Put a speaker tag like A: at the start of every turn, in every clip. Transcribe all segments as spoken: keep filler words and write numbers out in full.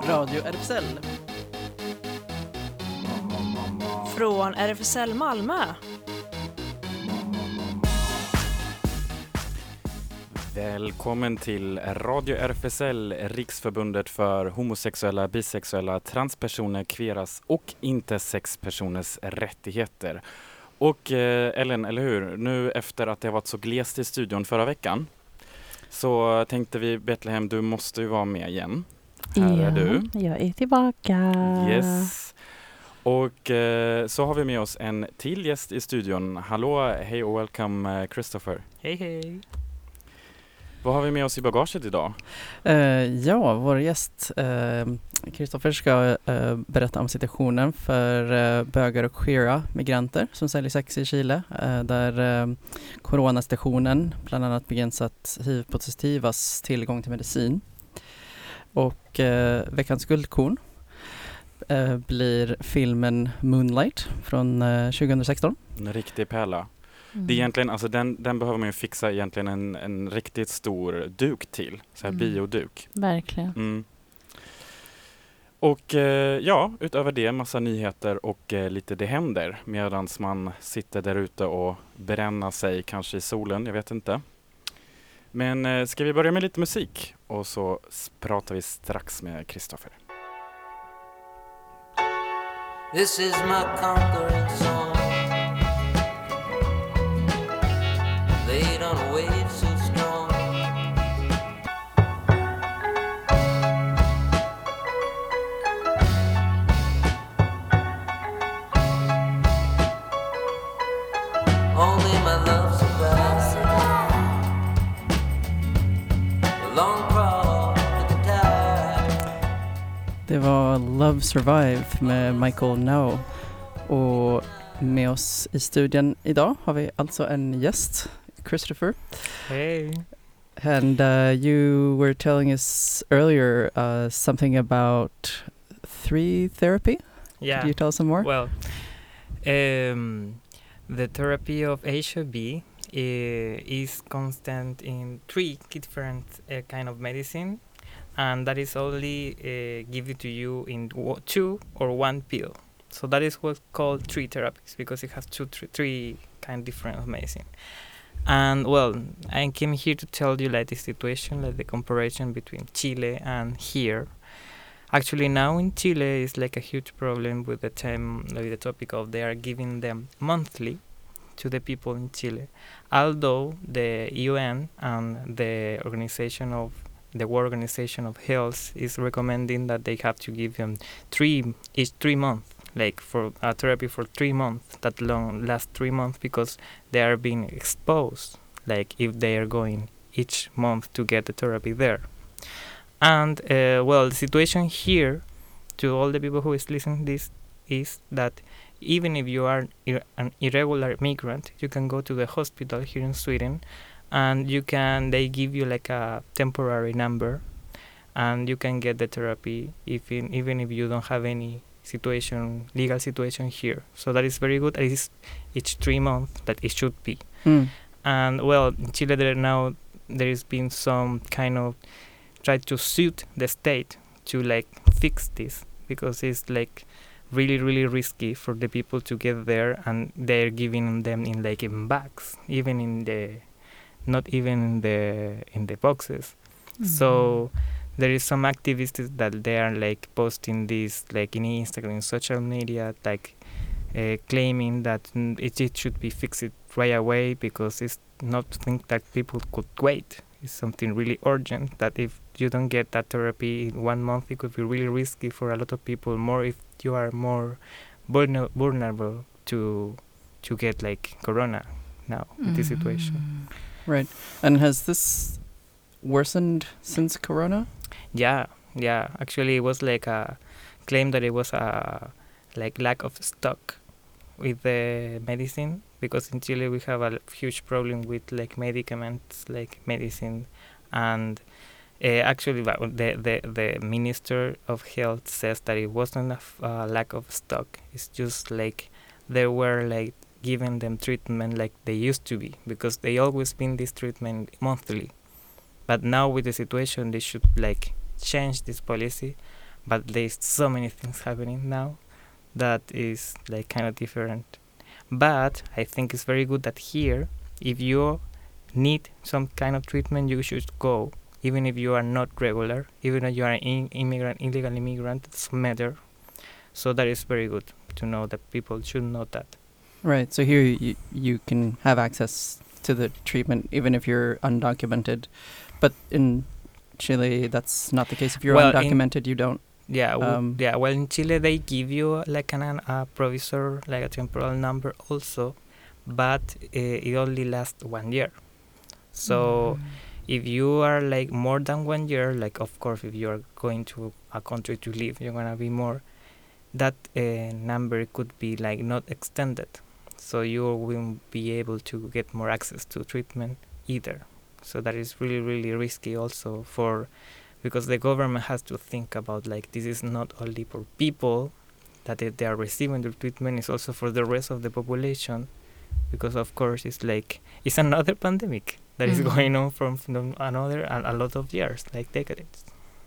A: Radio R F S L.
B: Från R F S L Malmö.
C: Välkommen till Radio R F S L, Riksförbundet för homosexuella, bisexuella, transpersoner, kveras och intersexpersoners rättigheter. Och eh, Ellen, eller hur? Nu efter att det varit så glest i studion förra veckan så tänkte vi, Betlehem, du måste ju vara med igen. Här
D: ja,
C: är du.
D: Jag är tillbaka.
C: Yes. Och eh, så har vi med oss en till gäst i studion. Hallå, hej och welcome Christopher.
E: Hej hej.
C: Vad har vi med oss i bagaget idag?
A: Uh, ja, vår gäst Christopher uh, ska uh, berätta om situationen för uh, bögar och queera migranter som säljer sex i Chile. Uh, där uh, coronastationen bland annat begränsat hiv-positivas tillgång till medicin. Och uh, veckans guldkorn uh, blir filmen Moonlight från uh, tjugohundrasexton.
C: En riktig pärla.
D: Mm.
C: Det är egentligen, alltså den, den behöver man ju fixa egentligen en, en riktigt stor duk till. Så här
D: Mm.
C: bioduk.
D: Verkligen.
C: Mm. Och eh, ja, utöver det massa nyheter och eh, lite det händer medan man sitter där ute och bränner sig kanske i solen, jag vet inte. Men eh, ska vi börja med lite musik och så pratar vi strax med Christopher.
F: This is my conquering song. Laid on a wave so strong. Only my love survives. The long crawl with the tide.
A: Det var Love Survive med Michael Now. Och med oss i studion idag har vi alltså en gäst, Christopher.
E: Hey.
A: And uh, you were telling us earlier uh, something about three therapy.
E: Yeah.
A: Could you tell us some more?
E: Well, um, the therapy of H I V uh, is constant in three different uh, kind of medicine, and that is only uh, given to you in w- two or one pill. So that is what's called three therapies because it has two, three, three kind of different of medicine. And well, I came here to tell you like the situation, like the comparison between Chile and here. Actually, now in Chile is like a huge problem with the time, with the topic of they are giving them monthly to the people in Chile, although the U N and the organization of the World Organization of Health is recommending that they have to give them three each three months. Like for a therapy for three months, that long last three months because they are being exposed. Like if they are going each month to get the therapy there, and uh, well, the situation here, to all the people who is listening this, is that even if you are ir- an irregular migrant, you can go to the hospital here in Sweden, and you can they give you like a temporary number, and you can get the therapy if in, even if you don't have any situation, legal situation here. So that is very good. It is each three months that it should be.
A: Mm.
E: And well, in Chile there now there has been some kind of try to suit the state to like fix this because it's like really really risky for the people to get there, and they're giving them in like in bags, even in the not even in the in the boxes. Mm-hmm. So there is some activists that they are like posting this like in Instagram, in social media, like uh, claiming that mm, it, it should be fixed right away because it's not something that people could wait. It's something really urgent that if you don't get that therapy in one month, it could be really risky for a lot of people, more if you are more vulner- vulnerable to to get like corona now in
D: Mm.
E: this situation.
A: Right. And has this worsened since corona?
E: Yeah, yeah. Actually, it was like a claim that it was a like lack of stock with the medicine because in Chile we have a huge problem with like medicaments, like medicine, and uh, actually the, the the Minister of Health says that it wasn't a f- uh, lack of stock. It's just like they were like giving them treatment like they used to be because they always been this treatment monthly. But now with the situation, they should like change this policy but there's so many things happening now that is like kind of different. But I think it's very good that here, if you need some kind of treatment, you should go, even if you are not regular, even if you are an in- immigrant, illegal immigrant, it doesn't matter. So that is very good to know that people should know that.
A: Right. So here you, you can have access to the treatment even if you're undocumented. But in Chile, that's not the case. If you're
E: Well,
A: undocumented, you don't.
E: Yeah, w-
A: Um,
E: yeah. Well, in Chile they give you like an a provisor, like a temporal number also, but uh, it only lasts one year. So if you are like more than one year, like of course if you are going to a country to live, you're gonna be more. That uh, number could be like not extended, so you won't be able to get more access to treatment either. So that is really really risky also for. Because the government has to think about like this is not only for people that they, they are receiving the treatment, it's also for the rest of the population, because of course it's like it's another pandemic that is
D: Mhm.
E: going on from, from another a, a lot of years, like decades.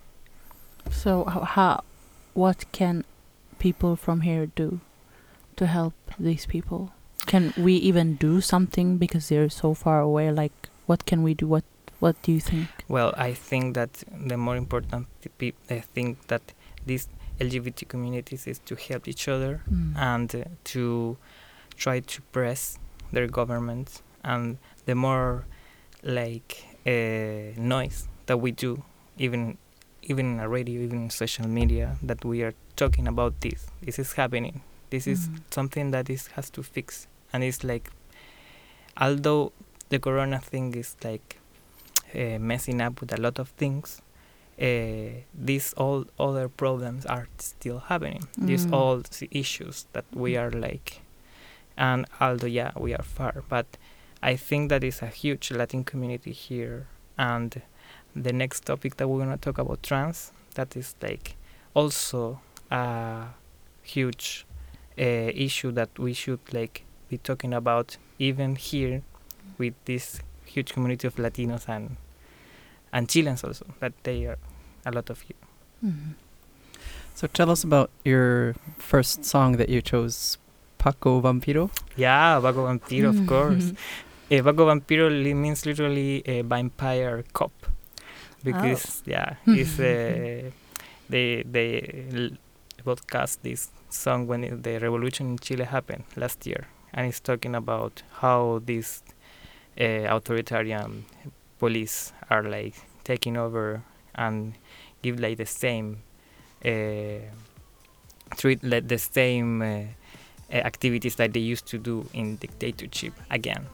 D: So how, how, what can people from here do to help these people? Can we even do something because they're so far away? Like, what can we do? What What do you think?
E: Well, I think that the more important pe- I think that these L G B T communities is to help each other
D: Mm.
E: and uh, to try to press their governments, and the more like uh, noise that we do, even even in a radio, even in social media, that we are talking about this. This is happening. This is
D: Mm.
E: something that is has to fix, and it's like, although the corona thing is like uh, messing up with a lot of things, uh, these all other problems are still happening. These
D: Mm.
E: all s- issues that we are like, and although yeah we are far, but I think that is a huge Latin community here. And the next topic that we're gonna talk about, trans, that is like also a huge uh, issue that we should like be talking about even here with this huge community of Latinos and and Chileans also, that they are a lot of you.
D: Mm.
A: So tell us about your first song that you chose, Paco Vampiro.
E: Yeah, Vago Vampiro, of
D: Mm.
E: course. Uh, Vago Vampiro li- means literally a vampire cop, because yeah, it's uh, they they l- broadcast this song when it, the revolution in Chile happened last year, and it's talking about how these uh, authoritarian police are like taking over and give like the same uh, treat like the same uh, uh, activities that they used to do in dictatorship again.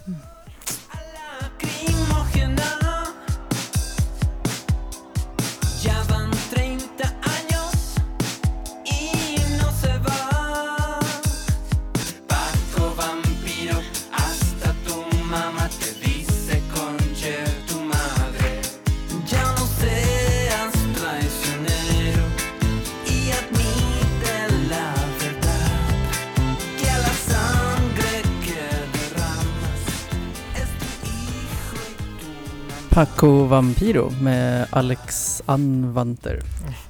F: Lacrimógena. Ya van treinta años y no se va. Paco Vampiro, hasta tu mamá te dice conche tu madre. Ya no seas traicionero y admite la verdad, que a la sangre que derramas es tu hijo y tu mamá.
A: Paco Vampiro med Alex Anvanter.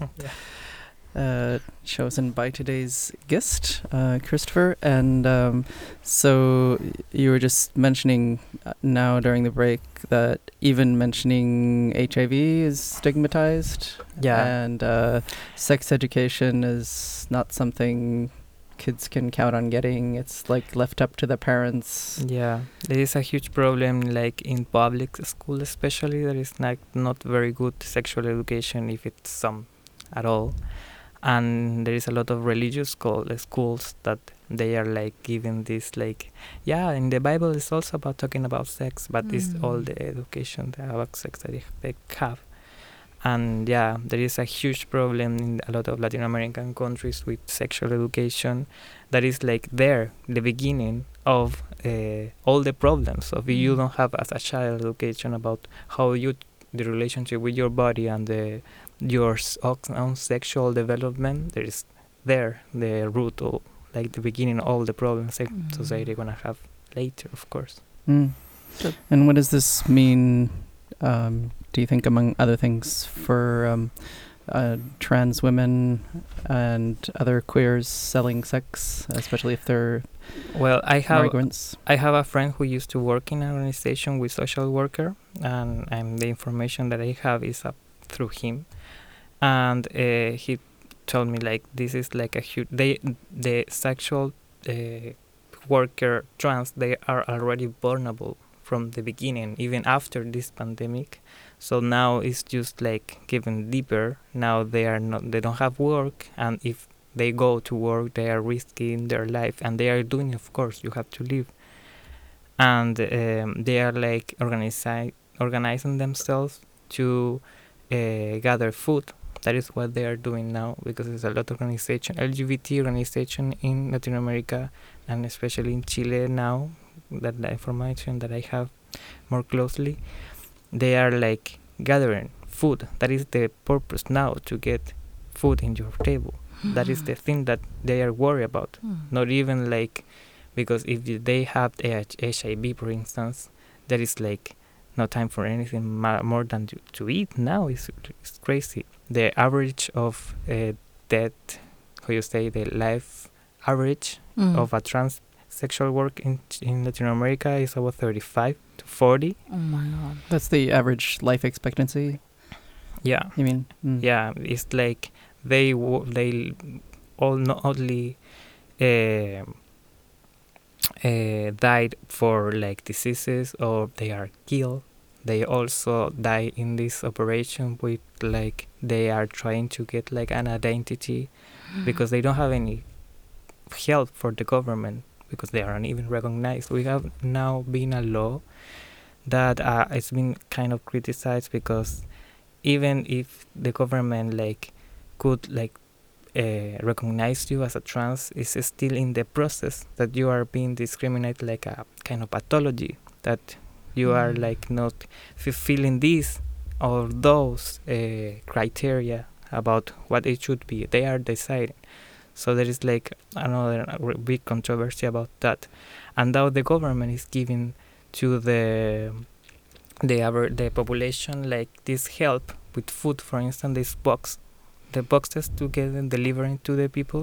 A: Uh, chosen by today's guest, uh, Christopher. And um, so y- you were just mentioning uh, now during the break that even mentioning H I V is stigmatized.
E: Yeah.
A: And uh, sex education is not something kids can count on getting. It's like left up to the parents.
E: Yeah, there is a huge problem, like in public school especially. There is not not very good sexual education, if it's some at all, and there is a lot of religious school, uh, schools that they are like giving this like, yeah, in the Bible it's also about talking about sex, but it's all
D: Mm.
E: the education that about sex that they, they have. And yeah, there is a huge problem in a lot of Latin American countries with sexual education that is like there, the beginning of uh, all the problems of you
D: Mm.
E: don't have as a child education about how you the relationship with your body and the your s- ox- own sexual development. There is there the root of like the beginning of all the problems that
D: Mm.
E: society gonna have later, of course.
A: Mm.
D: So-
A: And what does this mean, um, do you think, among other things, for um, uh, trans women and other queers selling sex, especially if they're
E: Well, I have
A: migrants?
E: I have a friend who used to work in an organization with social worker, and, and the information that I have is up through him, and uh, he told me like this is like a huge they the sexual uh, worker trans, they are already vulnerable from the beginning, even after this pandemic. So now it's just like getting deeper. Now they are not they don't have work, and if they go to work, they are risking their life, and they are doing, of course, you have to live. And um, they are like organizi- organizing themselves to uh, gather food. That is what they are doing now, because there's a lot of organization, L G B T organization in Latin America, and especially in Chile now, that the information that I have more closely, they are like gathering food. That is the purpose now, to get food in your table. That is the thing that they are worried about.
D: Mm.
E: Not even like, because if they have H I V, for instance, there is like no time for anything ma- more than to, to eat now. It's, it's crazy. The average of uh, death, how you say, the life average
D: Mm.
E: of a transsexual work in in Latin America is about thirty-five to forty.
D: Oh my god.
A: That's the average life expectancy,
E: Yeah.
A: you mean? Mm.
E: Yeah, it's like they w- they all not only uh, uh, died for like diseases or they are killed, they also die in this operation with like they are trying to get like an identity because they don't have any help for the government, because they aren't even recognized. We have now been a law that uh, it's been kind of criticized, because even if the government like could like uh, recognize you as a trans, it's still in the process that you are being discriminated, like a kind of pathology, that you are
D: Mm.
E: like not fulfilling this or those uh, criteria about what it should be. They are deciding. So there is like another r- big controversy about that, and now the government is giving to the the aver- the population like this help with food, for instance, this box, the boxes to get them delivering to the people.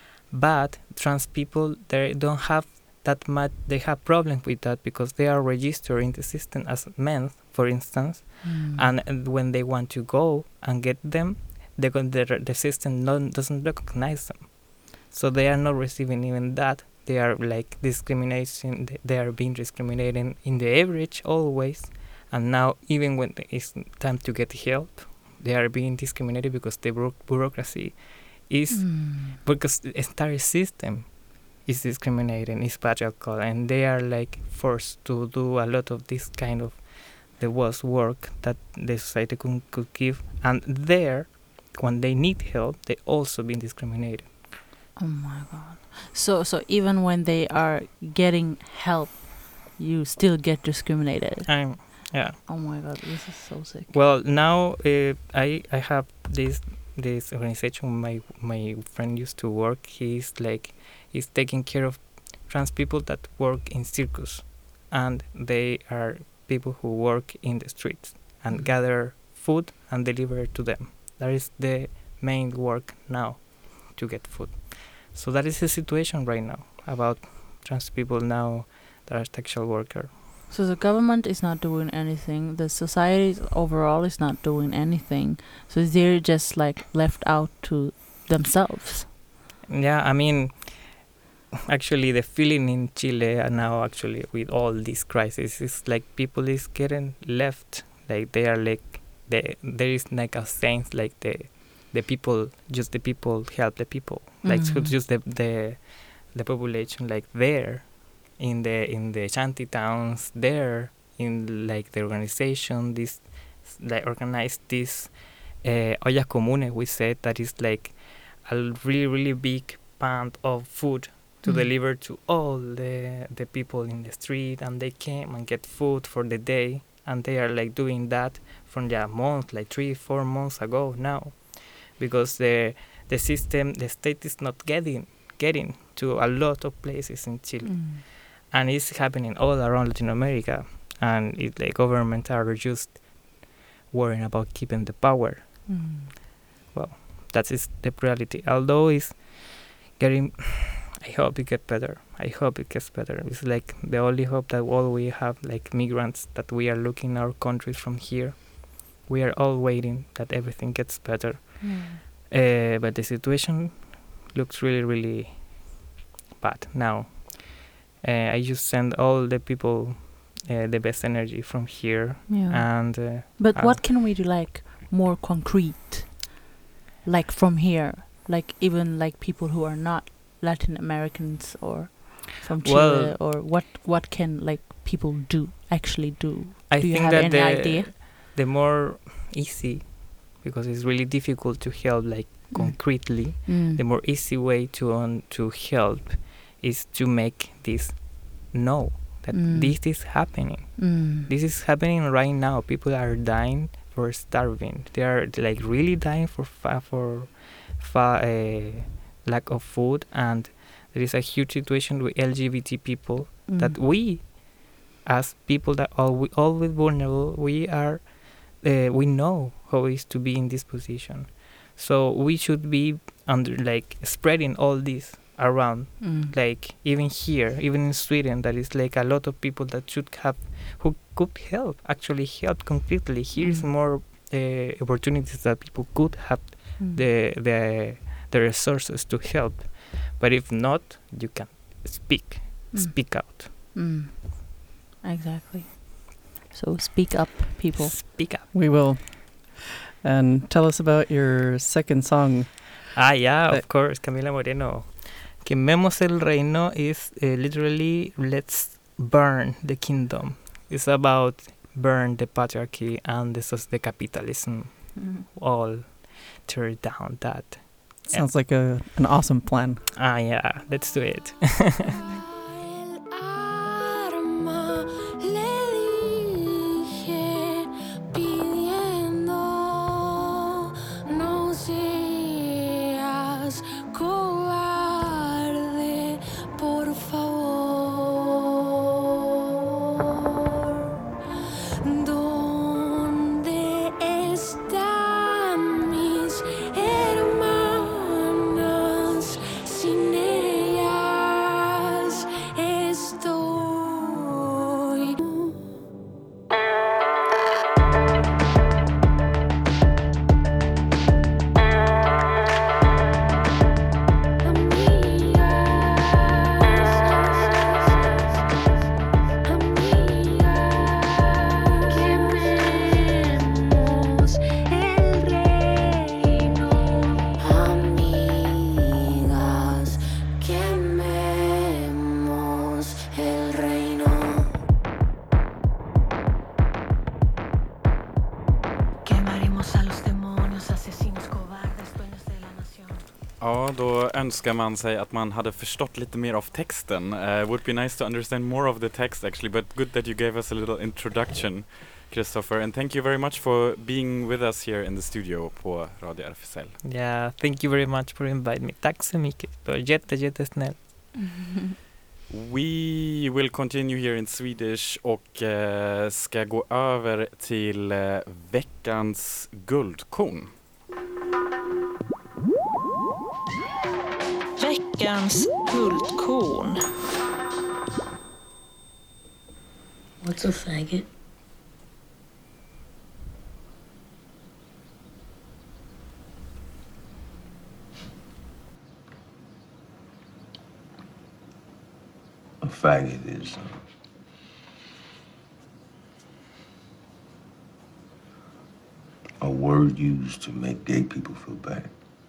E: But trans people, they don't have that much. They have problems with that because they are registered in the system as men, for instance,
D: Mm.
E: and, and when they want to go and get them, they go, the the system non, doesn't recognize them, so they are not receiving even that. They are like discrimination. th- They are being discriminated in the average always, and now even when it's time to get help, they are being discriminated because the bureau- bureaucracy is
D: Mm.
E: because the entire system is discriminating, is patriarchal, and they are like forced to do a lot of this kind of the worst work that the society could, could give, and there, when they need help, they also been discriminated.
D: Oh my god. So so even when they are getting help, you still get discriminated.
E: I'm, yeah.
D: Oh my god, this is so sick.
E: Well, now uh, I I have this this organization. My my friend used to work. He's like he's taking care of trans people that work in circus, and they are people who work in the streets and
D: Mm.
E: gather food and deliver it to them. That is the main work now, to get food. So that is the situation right now about trans people now that are sexual worker.
D: So the government is not doing anything. The society overall is not doing anything. So they're just like left out to themselves.
E: Yeah, I mean, actually the feeling in Chile now, actually with all these crises, is like people is getting left. Like they are like, they, there is like a sense like the the people, just the people help the people. Like so
D: Mm.
E: just the the the population like there in the in the shanty towns there in like the organization, this like organized this uh, ollas comunes, we said, that is like a really really big pan of food to
D: Mm.
E: deliver to all the the people in the street, and they came and get food for the day, and they are like doing that from the month, like three four months ago now, because the the system, the state is not getting getting to a lot of places in Chile,
D: Mm.
E: and it's happening all around Latin America, and it, the government are just worrying about keeping the power.
D: Mm.
E: well, that is the reality. Although it's getting, I hope it gets better. I hope it gets better. It's like the only hope that all we have, like migrants, that we are looking our countries from here. We are all waiting that everything gets better.
D: Mm.
E: Uh, but the situation looks really, really bad now. Uh, I just send all the people uh, the best energy from here.
D: Yeah.
E: And uh,
D: But
E: uh,
D: what can we do, like, more concrete? Like, from here? Like, even, like, people who are not Latin Americans or from Chile?
E: Well-
D: or what, what can, like, people do, actually do?
E: I
D: Do you
E: think
D: have
E: that
D: any
E: the,
D: idea?
E: the more easy, because it's really difficult to help, like,
D: Mm.
E: concretely,
D: Mm.
E: the more easy way to um, to help is to make this know that
D: Mm.
E: this is happening.
D: Mm.
E: This is happening right now. People are dying for starving. They are like really dying for fa- for fa- uh, lack of food, and there is a huge situation with L G B T people
D: Mm.
E: that we, as people that are we always vulnerable, we are uh, we know how it is to be in this position. So we should be under like spreading all this around,
D: Mm.
E: like even here, even in Sweden, there is like a lot of people that should have, who could help, actually help completely. Here is
D: Mm.
E: more uh, opportunities that people could have
D: Mm.
E: the the the resources to help. But if not, you can speak,
D: Mm.
E: speak out,
D: Mm. Exactly. So speak up, people.
E: speak up.
A: We will. And tell us about your second song.
E: Ah, yeah,
A: Uh,
E: of course, Camila Moreno. Quememos el reino is uh, literally let's burn the kingdom. It's about burn the patriarchy and the, soc- the capitalism.
D: Mm.
E: All tear down that.
A: Sounds like a an awesome plan.
E: Ah, yeah, let's do it.
G: El arma le dije pidiendo no seas cobarde, por favor. ¿Dónde están mis hermanas? Sin ellas estoy. Quememos el reino, amigas, quememos el reino. Quemaremos a los demonios, asesinos, cobardes, dueños de la nación.
C: Ja, då önskar man sig att man hade förstått lite mer av texten. Uh, would be nice to understand more of the text actually, but good that you gave us a little introduction, Christopher. And thank you very much for being with us here in the studio på Radio R F S L.
E: Yeah, thank you very much for inviting me. Tack så mycket. Du är jätte, jättesnäll.
C: We will continue here in Swedish och uh, ska gå över till uh, veckans guldkorn.
B: Veckans guldkorn.
H: What's a faggot?
I: A faggot is uh, a word used to make gay people feel bad.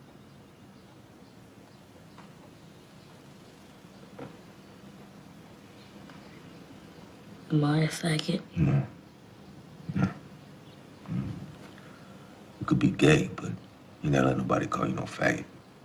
H: Am I a faggot?
I: No. No. Mm. You could be gay, but you never let nobody call you no faggot.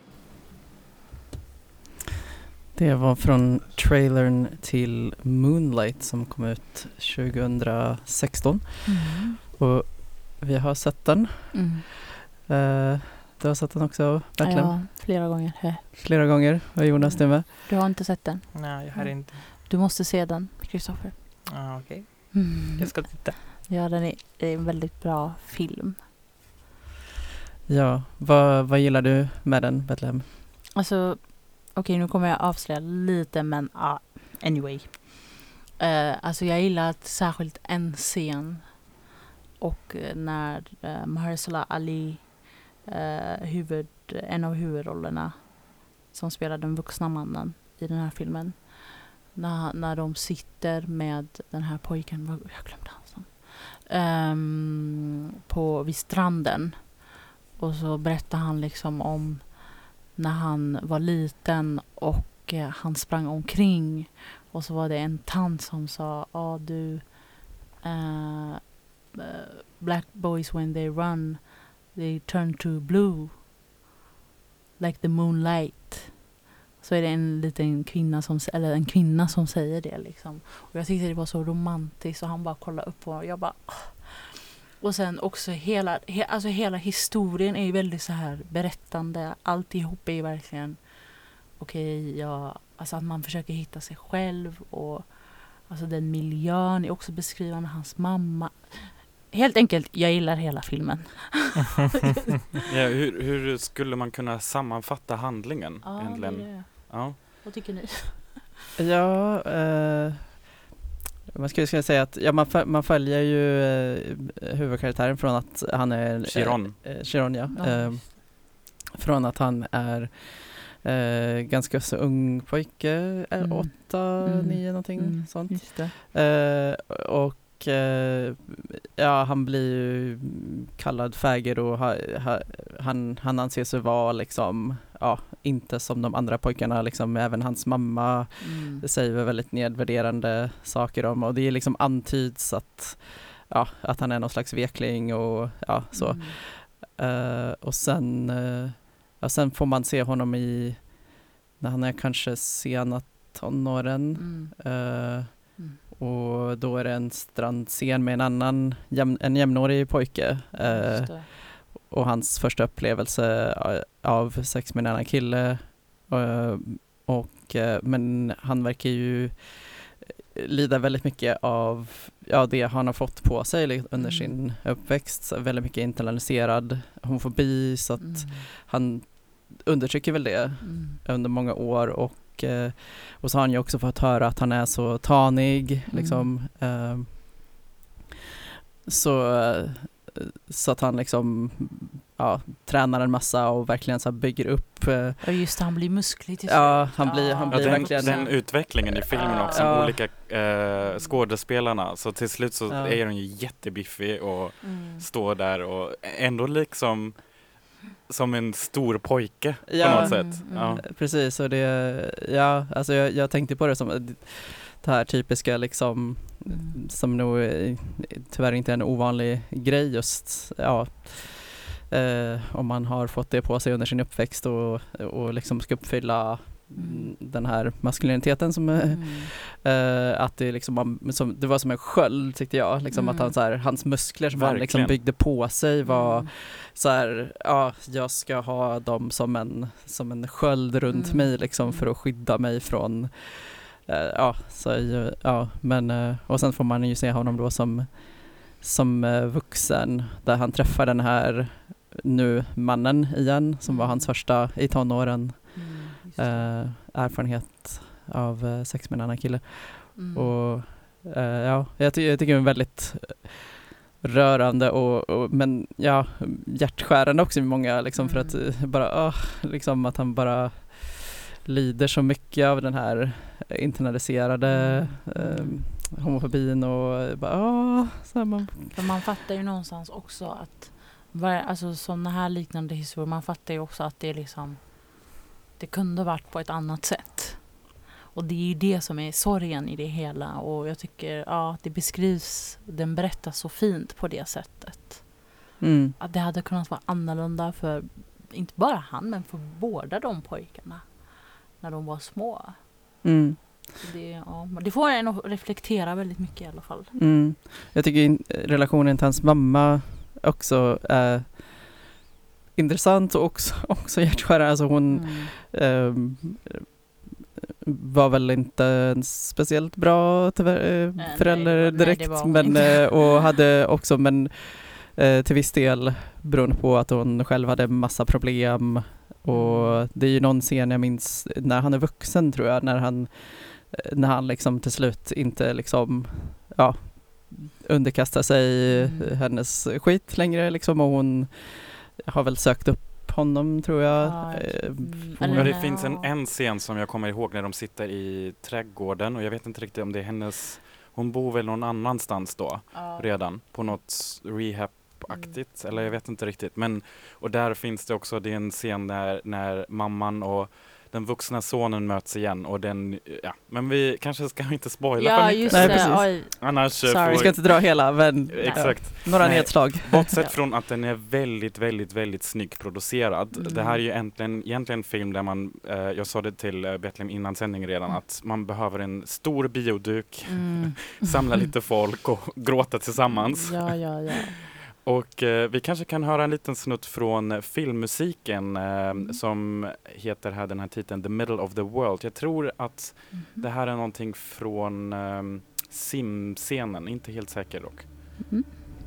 A: Det var från trailern till Moonlight som kom ut tjugohundrasexton.
D: Mm.
A: Och vi har sett den.
D: Mm.
A: Uh, du har sett den också, verkligen?
D: Ja, flera gånger. Hä.
A: Flera gånger. Och Jonas, du med?
D: Du har inte sett den?
E: Nej, jag har
D: Mm.
E: inte.
D: Du måste se den, Kristoffer.
E: Ah, okej.
D: Mm.
E: Jag ska titta.
D: Ja, den är, det är en väldigt bra film.
A: Ja, vad, vad gillar du med den, Betlehem?
D: Alltså, okej okay, nu kommer jag avslöja lite men uh, anyway. Uh, alltså jag gillar att särskilt en scen och uh, när uh, Mahershala Ali, uh, huvud, en av huvudrollerna som spelar den vuxna mannen i den här filmen. När, när de sitter med den här pojken, jag glömde hans namn, um, på, vid stranden. Och så berättar han liksom om när han var liten och eh, han sprang omkring. Och så var det en tant som sa, ja ah, du, uh, uh, black boys when they run, they turn to blue. Like the moonlight. Så är det en liten kvinna som, eller en kvinna som säger det liksom. Och jag tyckte det var så romantiskt och han bara kollade upp på och jag bara... Oh. Och sen också hela, he, alltså hela historien är ju väldigt så här berättande. Alltihop är ju verkligen okej, okay, ja, alltså att man försöker hitta sig själv och alltså den miljön är också beskrivande, hans mamma. Helt enkelt, jag gillar hela filmen.
C: Ja, hur, hur skulle man kunna sammanfatta handlingen?
D: Ja,
C: egentligen?
D: det är det.
C: Ja.
D: Vad tycker ni?
A: Ja, eh, man skulle, skulle säga att ja, man, föl- man följer ju eh, huvudkaraktären från att han är...
C: Chiron.
A: Eh, Chiron, ja.
D: Ja.
A: Eh, från att han är eh, ganska så ung pojke, är
D: Mm.
A: åtta,
D: Mm.
A: nio någonting
D: Mm,
A: sånt.
D: just det.
A: Eh, och eh, ja, han blir ju kallad fäger och ha, ha, han, han anses ju vara liksom, ja, inte som de andra pojkarna, liksom, även hans mamma
D: Mm.
A: säger väldigt nedvärderande saker om, och det är liksom antyds att, ja, att han är någon slags vekling och ja, så.
D: Mm.
A: Eh, och sen, eh, ja, sen får man se honom i, när han är kanske sena tonåren.
D: Mm.
A: Eh,
D: Mm.
A: och då är det en strandscen med en annan jäm, en jämnårig pojke. Eh,
D: Just det.
A: och hans första upplevelse av sex med en annan kille. Eh, och, eh, men han verkar ju lida väldigt mycket av ja, det han har fått på sig under
D: Mm.
A: sin uppväxt. Så väldigt mycket internaliserad homofobi, så att
D: Mm.
A: han undertrycker väl det
D: Mm.
A: under många år. Och, eh, och så har han ju också fått höra att han är så tanig.
D: Mm.
A: Liksom, eh, så, eh, så att han liksom ja, tränar en massa och verkligen så här bygger upp. Eh,
D: Ja just det, han blir musklig till
A: ja,
D: slut.
A: han blir, han
C: Ja,
A: blir
C: den,
A: verkligen...
C: den utvecklingen i filmen också,
A: Ja.
C: de olika eh, skådespelarna. Så till slut så
A: Ja.
C: är de ju jättebiffig och
D: Mm.
C: står där och ändå liksom som en stor pojke
A: Ja.
C: på något sätt.
D: Mm,
C: Ja.
D: mm.
A: Precis, och det, ja, alltså jag, jag tänkte på det som det här typiska liksom,
D: Mm.
A: som nog är, tyvärr inte är en ovanlig grej just, ja, eh, om man har fått det på sig under sin uppväxt och, och liksom ska uppfylla
D: Mm.
A: den här maskuliniteten som eh,
D: Mm.
A: eh, att det liksom man- som, det var som en sköld tyckte jag, liksom
D: Mm.
A: att han så här, hans muskler som han liksom
C: Verkligen.
A: byggde på sig var
D: Mm.
A: så här, ja, jag ska ha dem som en, som en sköld runt
D: Mm.
A: mig liksom
D: Mm.
A: för att skydda mig från, eh, ja, så, ju- ja, men, eh, och sen får man ju se honom då som, som eh, vuxen, där han träffar den här nu mannen igen, som var
D: Mm.
A: hans första i tonåren,
D: Mm. Just det.
A: eh, erfarenhet av eh, sex med en annan kille.
D: Mm.
A: Och eh, ja, jag, ty- jag tycker det är väldigt rörande och, och men ja, hjärtskärande också i många liksom, för att
D: Mm.
A: eh, bara, åh, liksom att han bara lider så mycket av den här internaliserade
D: Mm.
A: eh, homofobin och bara, åh, så här man,
D: För man fattar ju någonstans också att var, alltså sådana här liknande historier, man fattar ju också att det är liksom det kunde varit på ett annat sätt. Och det är ju det som är sorgen i det hela, och jag tycker ja, det beskrivs, den berättas så fint på det sättet.
A: mm,
D: Att det hade kunnat vara annorlunda för inte bara han, men för båda de pojkarna när de var små.
A: mm,
D: Så det, ja, det får en att reflektera väldigt mycket i alla fall.
A: mm. Jag tycker in, relationen till hans mamma också är intressant och också, också hjärtskärande. Alltså hon
D: Mm.
A: ehm, var väl inte en speciellt bra tyvärr, eh,
D: nej,
A: förälder
D: det var- nej,
A: direkt,
D: det var hon
A: men
D: inte.
A: eh, och hade också, men Eh, till viss del beroende på att hon själv hade massa problem. Och det är ju någon scen jag minns när han är vuxen, tror jag, när han, när han liksom till slut inte liksom, ja, underkastar sig
D: Mm.
A: hennes skit längre liksom, och hon har väl sökt upp honom, tror jag.
D: Ja,
A: Eh,
D: mm,
A: hon-
C: Ja,
D: eller-
C: det finns en, en scen som jag kommer ihåg när de sitter i trädgården och jag vet inte riktigt om det är hennes, hon bor väl någon annanstans då
D: Ja.
C: redan på något rehab-aktigt, eller jag vet inte riktigt, men och där finns det också, det är en scen när, när mamman och den vuxna sonen möts igen och den, ja, men vi kanske ska inte spoila för
D: Ja,
C: mycket.
D: just
A: Nej,
D: det.
A: precis.
D: Oj.
C: Annars eh,
D: Sorry.
A: Vi
C: får
A: ska inte dra hela, men
C: exakt.
A: ja, några
C: Nej.
A: nedslag.
C: Bortsett
D: Ja.
C: från att den är väldigt, väldigt, väldigt snyggt producerad.
D: Mm.
C: Det här är ju egentligen, egentligen en film där man, eh, jag sa det till eh, Betlehem innan sändning redan,
D: Mm.
C: att man behöver en stor bioduk,
D: Mm.
C: samla lite folk och gråta tillsammans.
D: Ja, ja, ja.
C: Och eh, vi kanske kan höra en liten snutt från eh, filmmusiken eh,
D: Mm.
C: som heter här, den här titeln The Middle of the World. Jag tror att
D: Mhm.
C: det här är någonting från eh, Sim-scenen, inte helt säker dock.
D: Mm.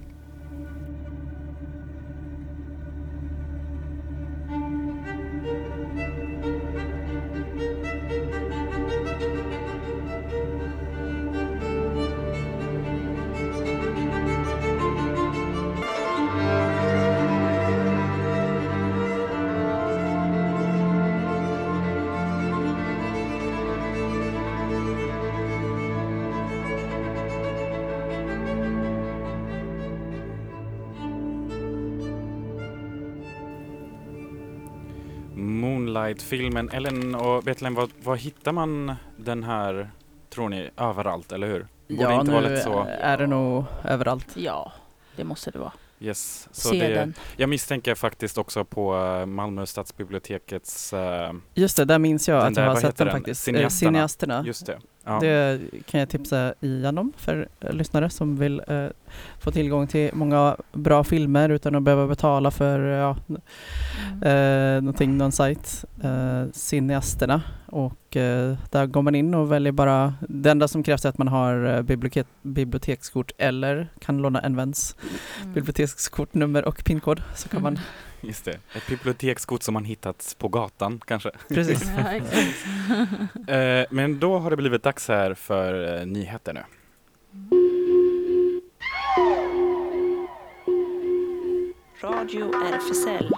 C: Moonlight-filmen. Ellen och Betlehem, vad, vad hittar man den här, tror ni, överallt, eller hur? Borde
A: Ja,
C: inte
A: nu
C: vara lätt så.
A: är det nog överallt.
D: Ja, det måste det vara.
C: Yes. Så
D: Se
C: det,
D: den.
C: jag misstänker faktiskt också på eh, Malmö stadsbibliotekets, eh,
A: Just det, där minns jag
C: Den
A: att
C: där,
A: jag har
C: vad
A: sett
C: heter
A: den
C: den?
A: faktiskt.
C: Cineasterna.
A: Eh, Cineasterna.
C: just det. Ja.
A: Det kan jag tipsa igenom för eh, lyssnare som vill eh, få tillgång till många bra filmer utan att behöva betala för ja,
D: Mm.
A: eh, någonting, någon sajt. Eh, Cineasterna. Och eh, där går man in och väljer bara, det enda som krävs är att man har eh, bibliotek, bibliotekskort eller kan låna en väns
D: Mm.
A: bibliotekskortnummer och pinkod, så kan man,
C: Just det. Ett bibliotekskort som man hittat på gatan kanske.
A: precis.
D: Ja, exakt.
C: Eh, men då har det blivit dags här för eh, nyheter nu.
B: Radio R F S L.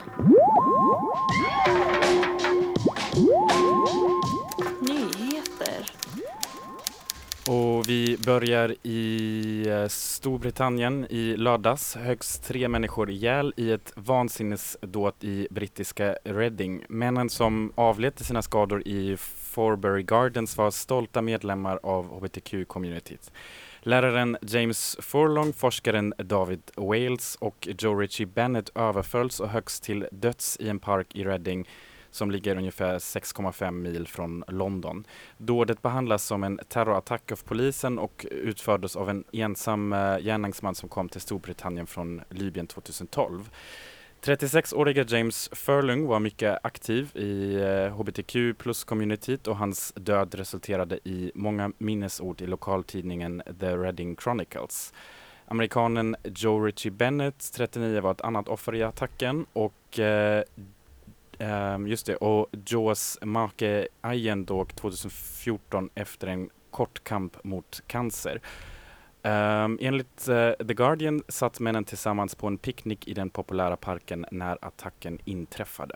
B: Nyheter.
C: Och vi börjar i eh, Storbritannien i lördags. Högst tre människor ihjäl i ett vansinnesdåd i brittiska Reading. Männen som avled till sina skador i Forbury Gardens var stolta medlemmar av H B T Q-communityt. Läraren James Furlong, forskaren David Wales och Joe Ritchie Bennett överfölls och höggs till döds i en park i Reading som ligger ungefär sex komma fem mil från London. Dådet behandlas som en terrorattack av polisen och utfördes av en ensam uh, gärningsman som kom till Storbritannien från Libyen tjugohundratolv. trettiosex-åriga James Furlong var mycket aktiv i uh, H B T Q plus-communityt och hans död resulterade i många minnesord i lokaltidningen The Reading Chronicles. Amerikanen Joe Ritchie Bennett, trettionio, var ett annat offer i attacken och uh, Um, just det, och Joes Marke Ayen dog tjugohundrafjorton efter en kort kamp mot cancer. Um, enligt uh, The Guardian satt männen tillsammans på en picknick i den populära parken när attacken inträffade.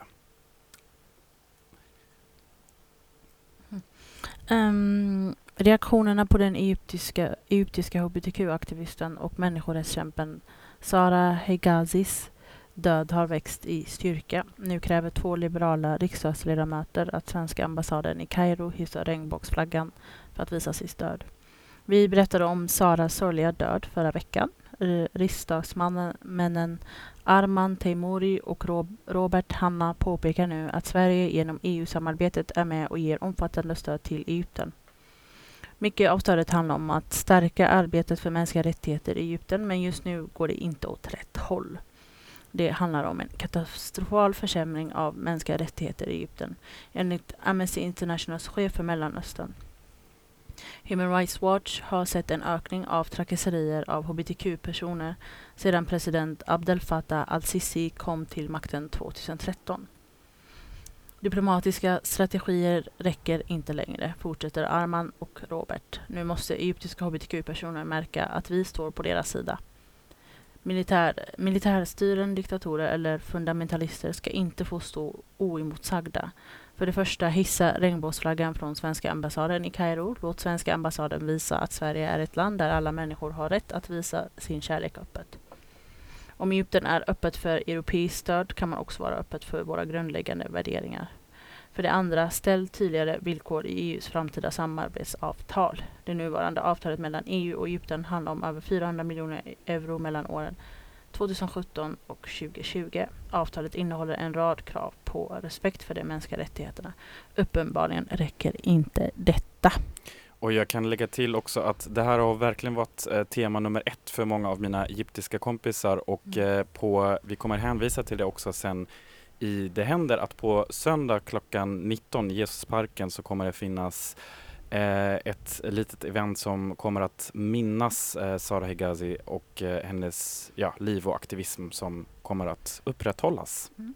D: Um, reaktionerna på den egyptiska, egyptiska H B T Q-aktivisten och människorättskämpen Sara Hegazis död har växt i styrka. Nu kräver två liberala riksdagsledamöter att svenska ambassaden i Kairo hissar regnbågsflaggan för att visa sitt stöd. Vi berättade om Saras sorgliga död förra veckan. Riksdagsmännen Arman Teimouri och Rob- Robert Hanna påpekar nu att Sverige genom E U-samarbetet är med och ger omfattande stöd till Egypten. Mycket av stödet handlar om att stärka arbetet för mänskliga rättigheter i Egypten, men just nu går det inte åt rätt håll. Det handlar om en katastrofal försämring av mänskliga rättigheter i Egypten, enligt Amnesty Internationals chef för Mellanöstern. Human Rights Watch har sett en ökning av trakasserier av hbtq-personer sedan president Abdel Fattah al-Sisi kom till makten tjugohundratretton. Diplomatiska strategier räcker inte längre, fortsätter Arman och Robert. Nu måste egyptiska hbtq-personer märka att vi står på deras sida. Militär, militärstyren, diktatorer eller fundamentalister ska inte få stå oemotsagda. För det första, hissa regnbågsflaggan från svenska ambassaden i Kairo. Låt svenska ambassaden visa att Sverige är ett land där alla människor har rätt att visa sin kärlek öppet. Om Egypten är öppet för europeiskt stöd kan man också vara öppet för våra grundläggande värderingar. För det andra, ställ tydligare villkor i E U:s framtida samarbetsavtal. Det nuvarande avtalet mellan E U och Egypten handlar om över fyrahundra miljoner euro mellan åren tjugosjutton och tjugotjugo. Avtalet innehåller en rad krav på respekt för de mänskliga rättigheterna. Uppenbarligen räcker inte detta.
C: Och jag kan lägga till också att det här har verkligen varit eh, tema nummer ett för många av mina egyptiska kompisar och eh, på, vi kommer hänvisa till det också sen i Det händer att på söndag klockan nitton i Jesusparken så kommer det finnas eh, ett litet event som kommer att minnas eh, Sara Hegazi och eh, hennes ja, liv och aktivism som kommer att upprätthållas.
D: Mm.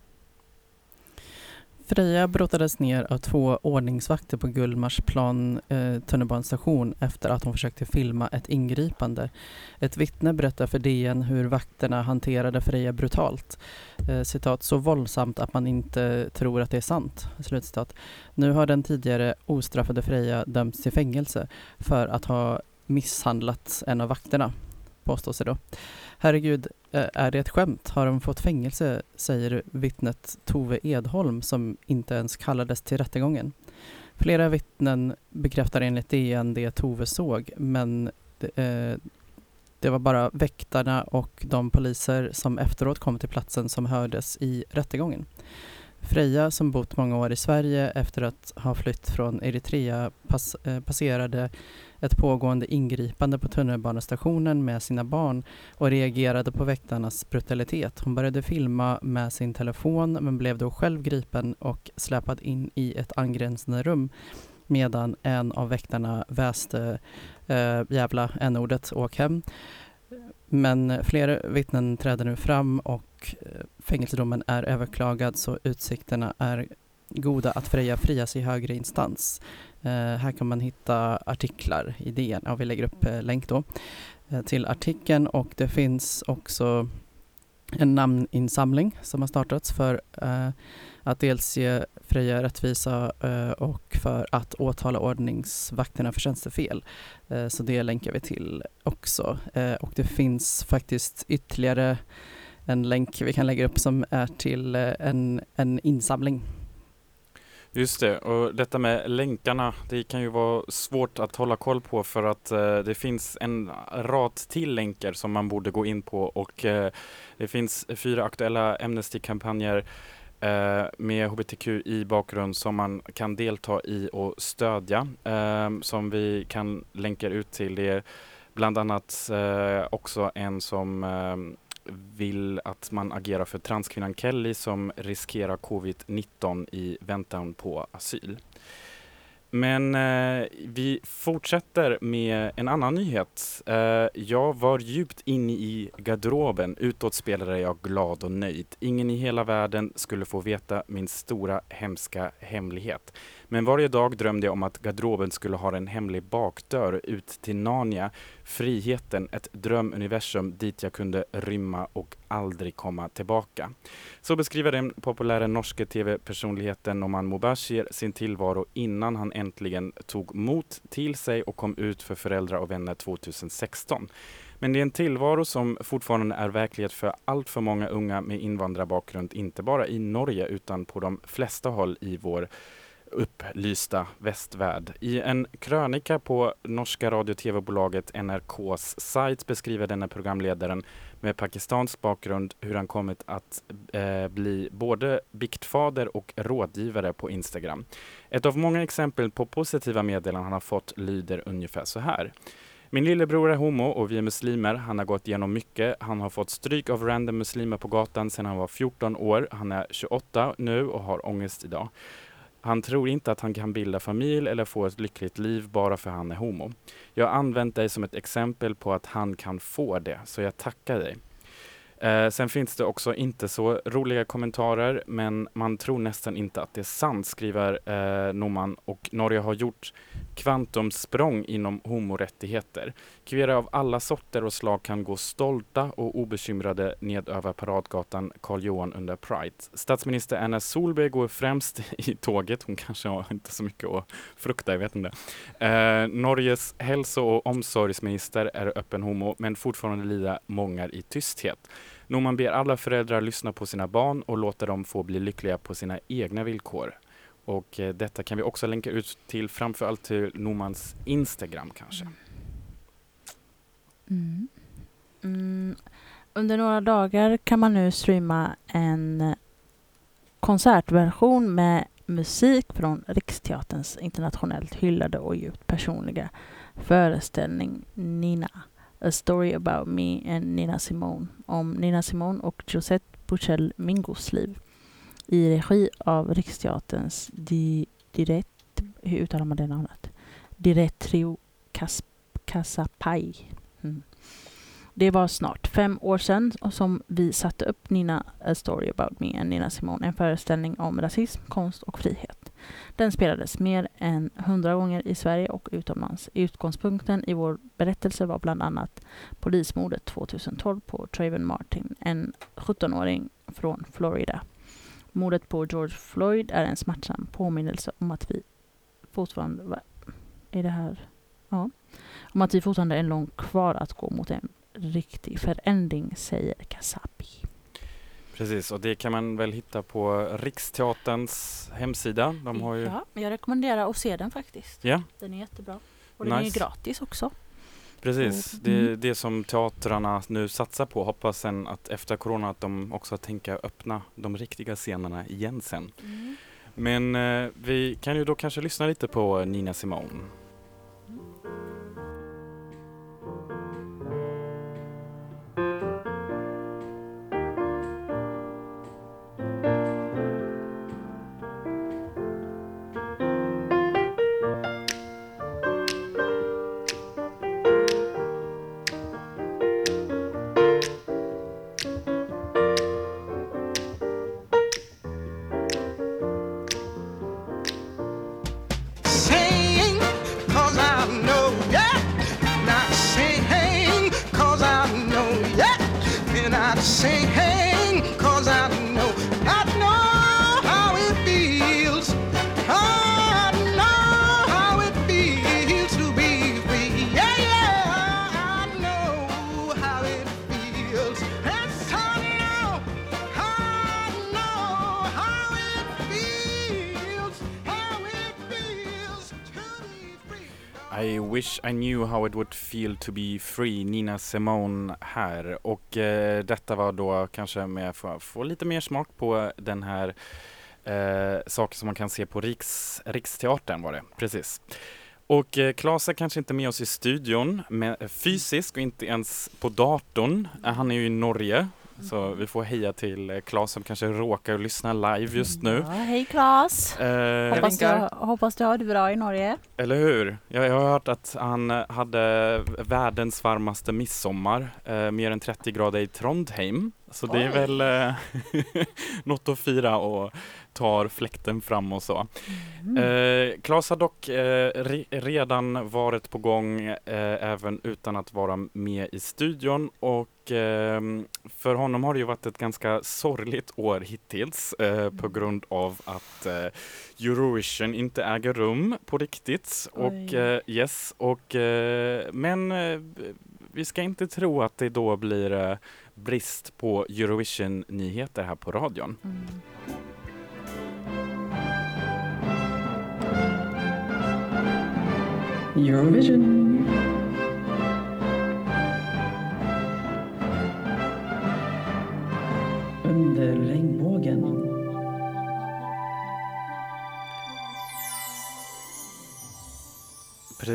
A: Freja brottades ner av två ordningsvakter på Gullmarsplan eh, tunnelbanestation efter att hon försökte filma ett ingripande. Ett vittne berättar för D N hur vakterna hanterade Freja brutalt. Eh, citat, så våldsamt att man inte tror att det är sant. Slutcitat. Nu har den tidigare ostraffade Freja dömts till fängelse för att ha misshandlat en av vakterna, påstås det då. Herregud, är det ett skämt? Har de fått fängelse, säger vittnet Tove Edholm som inte ens kallades till rättegången. Flera vittnen bekräftar enligt D N det Tove såg, men det, eh, det var bara väktarna och de poliser som efteråt kom till platsen som hördes i rättegången. Freja, som bott många år i Sverige efter att ha flytt från Eritrea, pass, eh, passerade ett pågående ingripande på tunnelbanestationen med sina barn och reagerade på väktarnas brutalitet. Hon började filma med sin telefon men blev då själv gripen och släpad in i ett angränsande rum medan en av väktarna väste eh, jävla n-ordet åk hem. Men fler vittnen träder nu fram och fängelsedomen är överklagad så utsikterna är goda att Freja frias i högre instans. Eh, här kan man hitta artiklar i D N. Ja, vi lägger upp eh, länk då eh, till artikeln och det finns också en namninsamling som har startats för eh, att dels ge Freja rättvisa eh, och för att åtala ordningsvakterna för tjänstefel. Eh, så det länkar vi till också. Eh, och det finns faktiskt ytterligare en länk vi kan lägga upp som är till eh, en, en insamling.
C: Just det, och detta med länkarna, det kan ju vara svårt att hålla koll på för att eh, det finns en rad till länkar som man borde gå in på och eh, det finns fyra aktuella Amnesty-kampanjer eh, med hbtq i bakgrund som man kan delta i och stödja eh, som vi kan länka ut till. Det är bland annat eh, också en som eh, vill att man agerar för transkvinnan Kelly som riskerar covid nitton i väntan på asyl. Men eh, vi fortsätter med en annan nyhet. Eh, jag var djupt inne i garderoben. Utåt spelade jag glad och nöjd. Ingen i hela världen skulle få veta min stora hemska hemlighet. Men varje dag drömde jag om att garderoben skulle ha en hemlig bakdörr ut till Narnia. Friheten, ett drömuniversum dit jag kunde rymma och aldrig komma tillbaka. Så beskriver den populära norska tv-personligheten Noman Mobashir sin tillvaro innan han äntligen tog mot till sig och kom ut för föräldrar och vänner tjugohundrasexton. Men det är en tillvaro som fortfarande är verklighet för allt för många unga med invandrarbakgrund, inte bara i Norge utan på de flesta håll i vår upplysta västvärld. I en krönika på norska radio- och tv-bolaget N R K:s sajt beskriver denna programledaren med pakistansk bakgrund hur han kommit att eh, bli både biktfader och rådgivare på Instagram. Ett av många exempel på positiva meddelanden han har fått lyder ungefär så här. Min lillebror är homo och vi är muslimer. Han har gått igenom mycket. Han har fått stryk av random muslimer på gatan sedan han var fjorton år. Han är tjugoåtta nu och har ångest idag. Han tror inte att han kan bilda familj eller få ett lyckligt liv bara för han är homo. Jag har använt dig som ett exempel på att han kan få det, så jag tackar dig. Eh, sen finns det också inte så roliga kommentarer, men man tror nästan inte att det är sant, skriver eh, Norman. Och Norge har gjort kvantumsprång inom homorättigheter. Kvinnor av alla sorter och slag kan gå stolta och obekymrade ned över paradgatan Karl Johan under Pride. Statsminister Anna Solberg går främst i tåget. Hon kanske har inte så mycket att frukta, jag vet inte. Eh, Norges hälso- och omsorgsminister är öppen homo, men fortfarande lider många i tysthet. Norman ber alla föräldrar lyssna på sina barn och låta dem få bli lyckliga på sina egna villkor. Och eh, detta kan vi också länka ut till, framförallt till Normans Instagram kanske.
D: Mm. Mm. Under några dagar kan man nu streama en konsertversion med musik från Riksteaterns internationellt hyllade och djupt personliga föreställning Nina. A Story About Me and Nina Simone, om Nina Simone och Josette Buchel Mingos liv i regi av Riksteaterns di, direkt, hur uttalar man det namnet? Diretrio Cas, Casapai. Mm. Det var snart fem år sedan som vi satte upp Nina A Story About Me and Nina Simone, en föreställning om rasism, konst och frihet. Den spelades mer än hundra gånger i Sverige och utomlands. Utgångspunkten i vår berättelse var bland annat polismordet tjugohundratolv på Trayvon Martin, en sjuttonåring från Florida. Mordet på George Floyd är en smärtsam påminnelse om att vi fortfarande är det här ja, om att vi fortfarande är långt kvar att gå mot en riktig förändring, säger Kasapi.
C: Precis, och det kan man väl hitta på Riksteaterns hemsida. De har ju...
D: Ja, jag rekommenderar att se den faktiskt.
C: Ja.
D: Den är jättebra. Och den
C: Nice.
D: är gratis också.
C: Precis,
D: Mm.
C: det är det som teatrarna nu satsar på. Hoppas sen att efter corona att de också tänker öppna de riktiga scenerna igen sen.
D: Mm.
C: Men eh, vi kan ju då kanske lyssna lite på Nina Simone. I wish I knew how it would feel to be free, Nina Simone här. Och eh, detta var då kanske med för att få lite mer smak på den här eh, saken som man kan se på Riks, Riksteatern var det, precis. Och eh, Claes är kanske inte med oss i studion med, fysiskt och inte ens på datorn. Han är ju i Norge. Så vi får heja till Claes som kanske råkar lyssna live just nu.
D: Ja, hej Claes!
C: Eh,
D: hoppas, du, hoppas du har det bra i Norge.
C: Eller hur? Jag, jag har hört att han hade världens varmaste midsommar. Eh, mer än trettio grader i Trondheim. Så det är väl eh, något att fira och tar fläkten fram och så. Mm. Eh, Claes har dock eh, re- redan varit på gång eh, även utan att vara med i studion. Och eh, för honom har det ju varit ett ganska sorgligt år hittills eh, på grund av att eh, Eurovision inte äger rum på riktigt. Och, eh, yes, och, eh, men eh, vi ska inte tro att det då blir eh, brist på Eurovision-nyheter här på radion.
D: Mm.
A: Eurovision. Under regnbågen.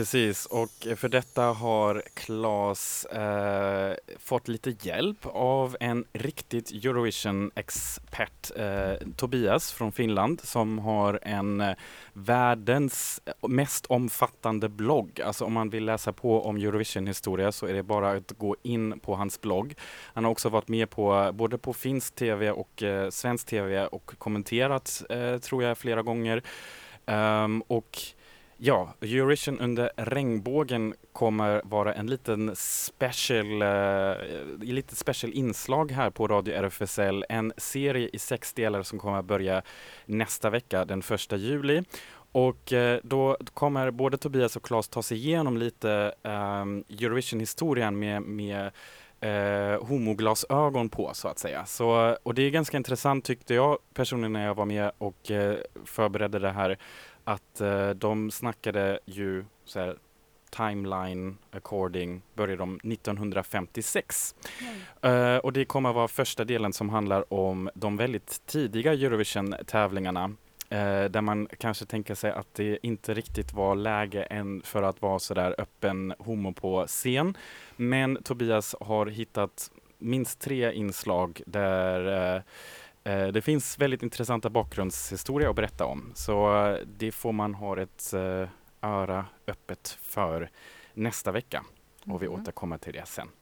C: Precis, och för detta har Claes eh, fått lite hjälp av en riktigt Eurovision-expert, eh, Tobias från Finland, som har en eh, världens mest omfattande blogg. Alltså om man vill läsa på om Eurovision-historia så är det bara att gå in på hans blogg. Han har också varit med på både på finsk tv och eh, svensk tv och kommenterat, eh, tror jag, flera gånger. Um, och ja, Eurovision under regnbågen kommer vara en liten special, uh, lite special inslag här på Radio R F S L. En serie i sex delar som kommer att börja nästa vecka, den första juli. Och uh, då kommer både Tobias och Claes ta sig igenom lite um, Eurovision-historien med, med uh, homoglasögon på, så att säga. Så, och det är ganska intressant, tyckte jag personligen, när jag var med och uh, förberedde det här, att uh, de snackade ju så här, timeline according började de nittonhundrafemtiosex. Mm. Uh, och det kommer att vara första delen som handlar om de väldigt tidiga Eurovision-tävlingarna, uh, där man kanske tänker sig att det inte riktigt var läge än för att vara så där öppen homo på scen. Men Tobias har hittat minst tre inslag där uh, Uh, det finns väldigt intressanta bakgrundshistorier att berätta om. Så uh, det får man ha ett uh, öra öppet för nästa vecka. Mm. Och vi återkommer till det sen.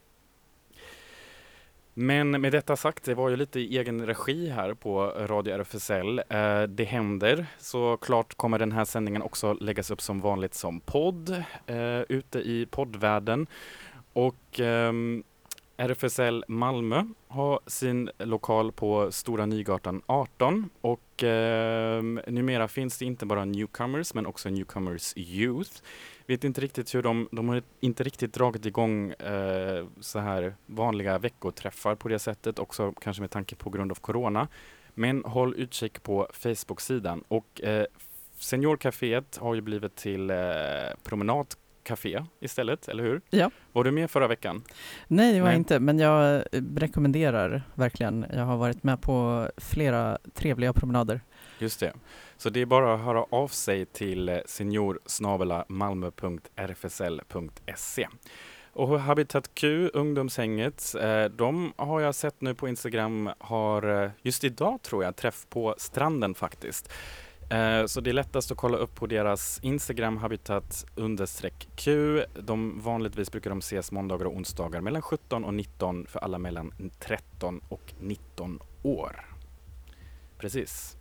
C: Men med detta sagt, det var ju lite i egen regi här på Radio R F S L. Uh, det händer. Så klart kommer den här sändningen också läggas upp som vanligt som podd uh, ute i poddvärlden. Och Um, R F S L Malmö har sin lokal på Stora Nygatan arton och eh, numera finns det inte bara Newcomers men också Newcomers Youth. Vet inte riktigt hur de, de har inte riktigt dragit igång eh, så här vanliga veckoträffar på det sättet, också kanske med tanke på grund av corona. Men håll utkik på Facebook-sidan, och eh, Seniorcaféet har ju blivit till eh, promenad café istället, eller hur?
A: Ja.
C: Var du med förra veckan?
A: Nej, det var
C: Nej.
A: inte, men jag rekommenderar verkligen. Jag har varit med på flera trevliga promenader.
C: Just det. Så det är bara att höra av sig till senior snabel-a malmö punkt r f s l punkt s e. Och Habitat Q, ungdomshänget, de har jag sett nu på Instagram, har just idag tror jag träff på stranden faktiskt. Så det är lättast att kolla upp på deras Instagram, habitat understreck Q. De, vanligtvis brukar de ses måndagar och onsdagar mellan sjutton och nitton för alla mellan tretton och nitton år. Precis.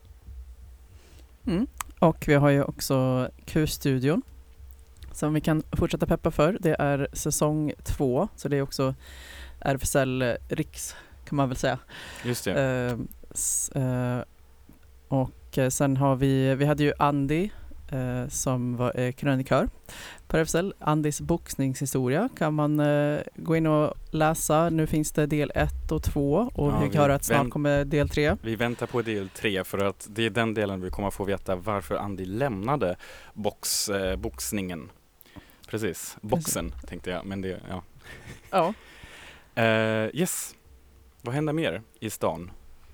A: Mm. Och vi har ju också Q-studion som vi kan fortsätta peppa för. Det är säsong två, så det är också R F S L Riks, kan man väl säga.
C: Just det.
A: Uh, s- uh, och sen har vi, vi hade ju Andy eh, som var eh, krönikör på R F S L. Andys boxningshistoria kan man eh, gå in och läsa. Nu finns det del ett och två och
C: Ja,
A: vi
C: vi
A: hör att snart
C: vänt-
A: kommer del tre.
C: Vi väntar på del tre för att det är den delen vi kommer få veta varför Andy lämnade box, eh, boxningen. Precis, boxen Precis. tänkte jag, men det, ja.
A: Ja.
C: uh, yes, vad händer mer i stan?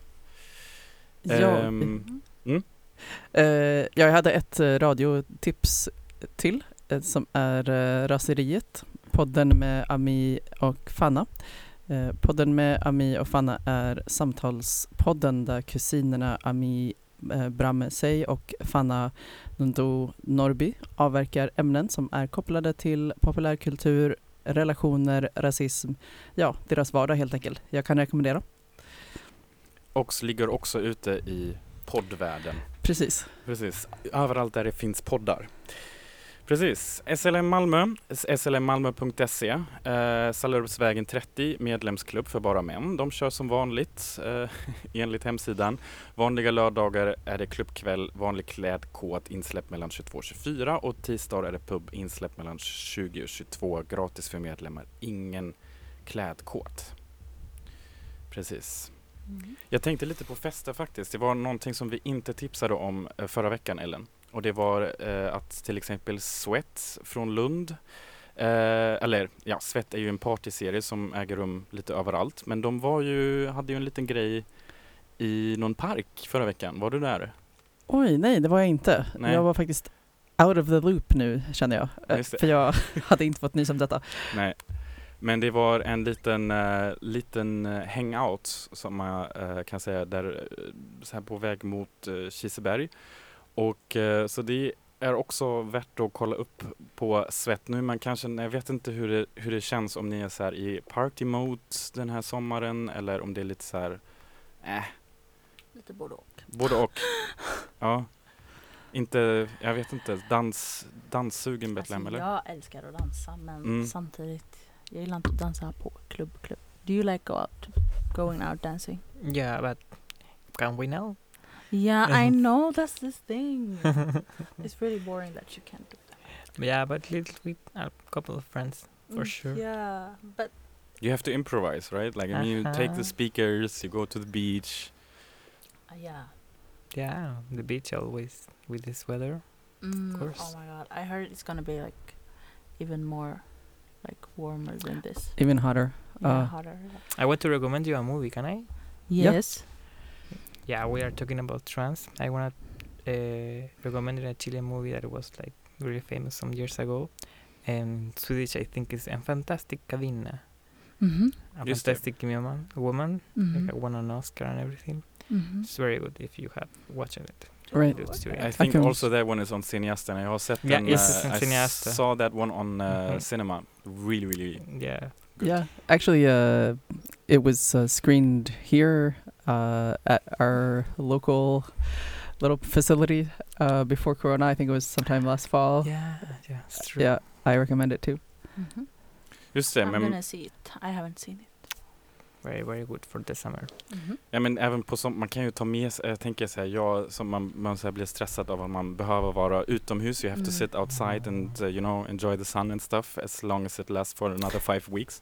A: Ja,
C: Um, mm?
A: uh, jag hade ett uh, radiotips till uh, som är uh, Raseriet, podden med Ami och Fanna. Uh, podden med Ami och Fanna är samtalspodden där kusinerna Ami uh, Bramme Sey och Fanna Nundo Norby avverkar ämnen som är kopplade till populärkultur, relationer, rasism, ja, deras vardag helt enkelt. Jag kan rekommendera.
C: Och ligger också ute i poddvärlden.
A: Precis.
C: Precis. Överallt där det finns poddar. Precis. S L M Malmö, s l m malmö punkt s e, eh, Sallerupsvägen trettio, medlemsklubb för bara män. De kör som vanligt eh, enligt hemsidan. Vanliga lördagar är det klubbkväll, vanlig klädkod, insläpp mellan tjugotvå och tjugofyra, och tisdagar är det pub, insläpp mellan tjugo och tjugotvå, gratis för medlemmar, ingen klädkod. Precis. Mm. Jag tänkte lite på fester faktiskt. Det var någonting som vi inte tipsade om eh, förra veckan, Ellen. Och det var eh, att till exempel Sweat från Lund, eh, eller ja, Sweat är ju en partyserie som äger rum lite överallt. Men de var ju, hade ju en liten grej i någon park förra veckan. Var du där?
A: Oj, nej, det var jag inte.
C: Nej.
A: Jag var faktiskt out of the loop nu, känner jag. Eh,
C: Just det.
A: För jag hade inte fått nys om detta.
C: Nej. Men det var en liten, uh, liten uh, hangout som man uh, kan säga där uh, så här på väg mot uh, Kiseberg. Och uh, så det är också värt att kolla upp på Svett nu. Man kanske, jag vet inte hur det, hur det känns om ni är så här i party mode den här sommaren eller om det är lite så här äh,
D: Lite både och.
C: både och. Ja. Inte, jag vet inte, dans, danssugen Betlehem
D: Alltså,
C: eller?
D: jag älskar att dansa men
C: Mm.
D: samtidigt, jag gillar inte att dansa på klubb, klubb. Do you like go out, going out dancing?
E: Yeah, but can we know?
D: Yeah, I know that's this thing. It's really boring that you can't do that.
E: Yeah, but little with a couple of friends for
D: Mm,
E: sure.
D: Yeah, but
C: You have to improvise, right? Like I mean, you take
E: Uh-huh.
C: the speakers, you go to the beach.
D: uh, yeah.
E: Yeah, the beach always with this weather.
D: Mm,
E: course.
D: oh my god, I heard it's gonna be like even more like warmer than this.
A: Even hotter.
D: Yeah,
A: Uh,
D: hotter.
E: I want to recommend you a movie, can I?
D: Yes.
E: Yeah, we are talking about trans. I want to uh, recommend a Chilean movie that was like really famous some years ago. And Swedish, I think, is En fantastic kvinna.
D: Mhm.
E: A
C: Just det.
E: fantastic woman, woman.
D: Mhm.
E: Like, won an Oscar and everything.
D: Mhm.
E: It's very good if you have watched it.
A: Right.
E: It's too-
C: I think
A: can-
C: also that one is on Cineasten. Jag har sett
E: Yeah,
C: den.
E: yes, it's
C: uh,
E: on
C: I
E: Cineasten.
C: saw that one on uh,
E: Mhm.
C: cinema. Really, really
E: Yeah.
C: good.
A: Yeah, actually, uh, it was uh, screened here uh, at our local little facility uh, before Corona. I think it was sometime last fall.
E: Yeah, yeah, it's true.
A: Yeah, I recommend it too.
D: Mhm.
C: Just det,
D: I'm
C: men,
D: gonna see it. I haven't seen it.
E: Very, very good for the summer.
D: Mhm.
C: ja, men även på som, man kan ju ta med sig, jag tänker så här, jag som man, man så här blir stressad av att man behöver vara utomhus. You have to
D: Mm.
C: sit outside and uh, you know, enjoy the sun and stuff as long as it lasts for another five weeks.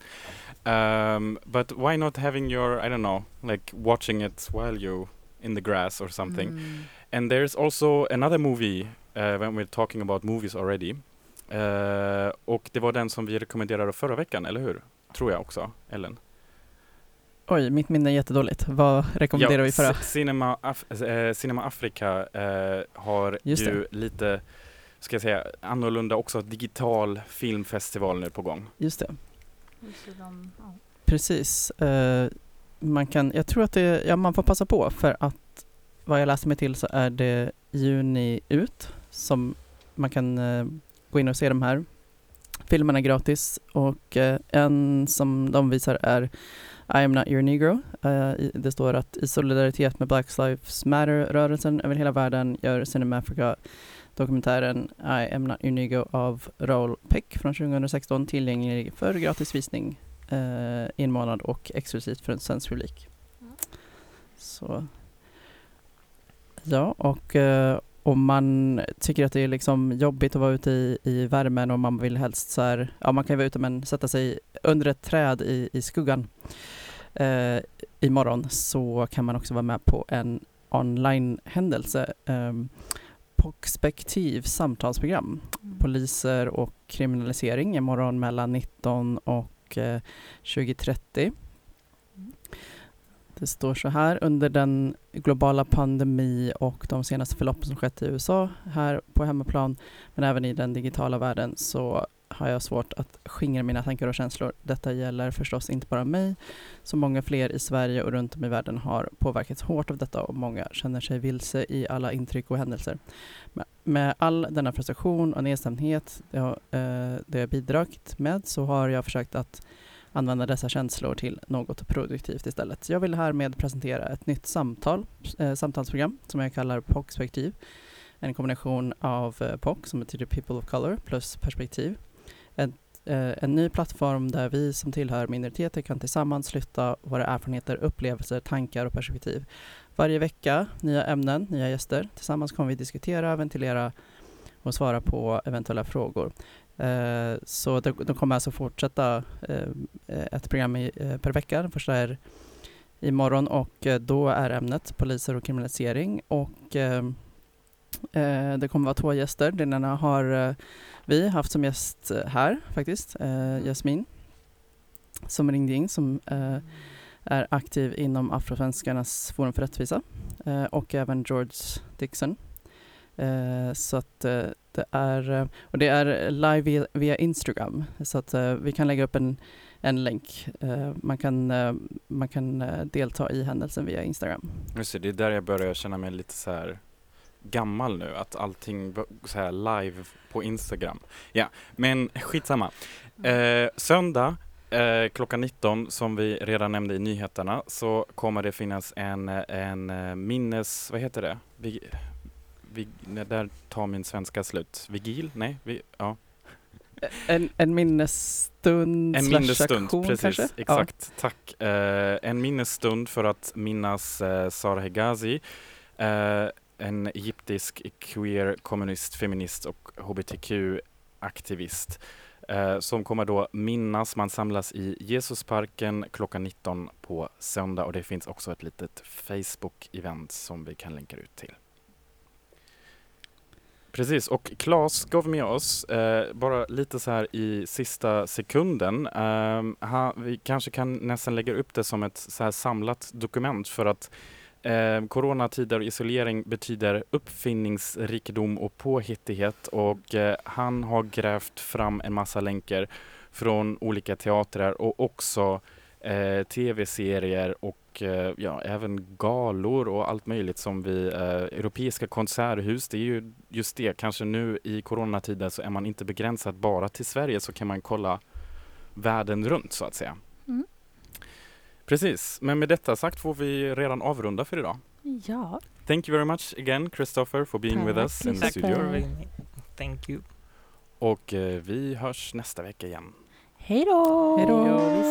C: Um, but why not having your, I don't know, like watching it while you in the grass or something.
D: Mm.
C: And there's also another movie uh, when we're talking about movies already. Uh, och det var den som vi rekommenderade förra veckan, eller hur? Tror jag också, Ellen.
A: Oj, mitt minne är jättedåligt. Vad rekommenderar vi förra?
C: C- Cinema, Af- äh, Cinema Africa äh, har
A: Just
C: ju lite, ska jag säga, annorlunda också digital filmfestival nu på gång.
A: Just det.
D: Just det, de- ja.
A: Precis. Eh, man kan, jag tror att det, ja, man får passa på för att vad jag läste mig till så är det juni ut som man kan eh, gå in och se de här filmerna gratis och eh, en som de visar är I am not your negro. Eh, i- det står att i solidaritet med Black Lives Matter-rörelsen över hela världen gör Cinema Africa dokumentären I am not your negro av Raoul Peck från tjugohundrasexton tillgänglig för gratis visning eh, i en månad och exklusivt för en svensk publik.
D: Mm.
A: Så ja, och eh, om man tycker att det är liksom jobbigt att vara ute i, i värmen och man vill helst så här, ja man kan ju vara ute men sätta sig under ett träd i, i skuggan eh, imorgon så kan man också vara med på en online-händelse eh, Perspektiv samtalsprogram.
D: Mm.
A: Poliser och kriminalisering imorgon mellan nitton och eh, tjugo trettio. Det står så här, under den globala pandemi och de senaste förloppen som skett i U S A här på hemmaplan, men även i den digitala världen så har jag svårt att skingra mina tankar och känslor. Detta gäller förstås inte bara mig, så många fler i Sverige och runt om i världen har påverkats hårt av detta och många känner sig vilse i alla intryck och händelser. Med, med all denna frustration och nedstämdhet det har, eh, det jag bidragit med så har jag försökt att använda dessa känslor till något produktivt istället. Jag vill härmed presentera ett nytt samtal, eh, samtalsprogram som jag kallar Perspektiv. En kombination av eh, P O C som betyder People of Color plus perspektiv. En, eh, en ny plattform där vi som tillhör minoriteter kan tillsammans lyfta våra erfarenheter, upplevelser, tankar och perspektiv. Varje vecka nya ämnen, nya gäster. Tillsammans kommer vi diskutera, ventilera och svara på eventuella frågor. Eh, så de, de kommer alltså fortsätta eh, ett program i, eh, per vecka. Den första är imorgon och eh, då är ämnet poliser och kriminalisering och eh, eh, det kommer vara två gäster. Den ena har eh, vi haft som gäst eh, här faktiskt, eh, Jasmin som ringde in som eh, är aktiv inom Afrosvenskarnas forum för rättvisa eh, och även George Dixon Eh, så att eh, det är, eh, och det är live via, via Instagram, så att eh, vi kan lägga upp en, en länk. Eh, man kan, eh, man kan eh, delta i händelsen via Instagram.
C: Just det, det är där jag börjar känna mig lite så här gammal nu, att allting b- så här live på Instagram. Ja, men skitsamma. Eh, söndag eh, klockan nitton, som vi redan nämnde i nyheterna, så kommer det finnas en, en eh, minnes... Vad heter det? Vi, vi, där tar min svenska slut. Vigil? Nej? Vi, ja.
A: En, en minnesstund
C: En
A: slash
C: minnesstund,
A: aktion,
C: precis.
A: kanske?
C: Exakt, ja. Tack. Eh, en minnesstund för att minnas eh, Sara Hegazi, eh, en egyptisk queer, kommunist, feminist och H B T Q-aktivist eh, som kommer då minnas. Man samlas i Jesusparken klockan nitton på söndag, och det finns också ett litet Facebook-event som vi kan länka ut till. Precis, och Claes gav med oss, eh, bara lite så här i sista sekunden, eh, ha, vi kanske kan nästan lägga upp det som ett så här samlat dokument, för att eh, coronatider och isolering betyder uppfinningsrikedom och påhittighet, och eh, han har grävt fram en massa länkar från olika teatrar och också eh, tv-serier och eh, ja, även galor och allt möjligt som vi, eh, europeiska konserthus, det är ju just det, kanske nu i coronatider så är man inte begränsad bara till Sverige, så kan man kolla världen runt så att säga.
D: Mm.
C: Precis, men med detta sagt får vi redan avrunda för idag.
D: Ja.
C: Thank you very much again, Christopher, for being with us in the
D: Tack,
C: studio.
D: Christopher.
E: Thank you.
C: Och eh, vi hörs nästa vecka igen.
D: Hej då!
A: Hej då!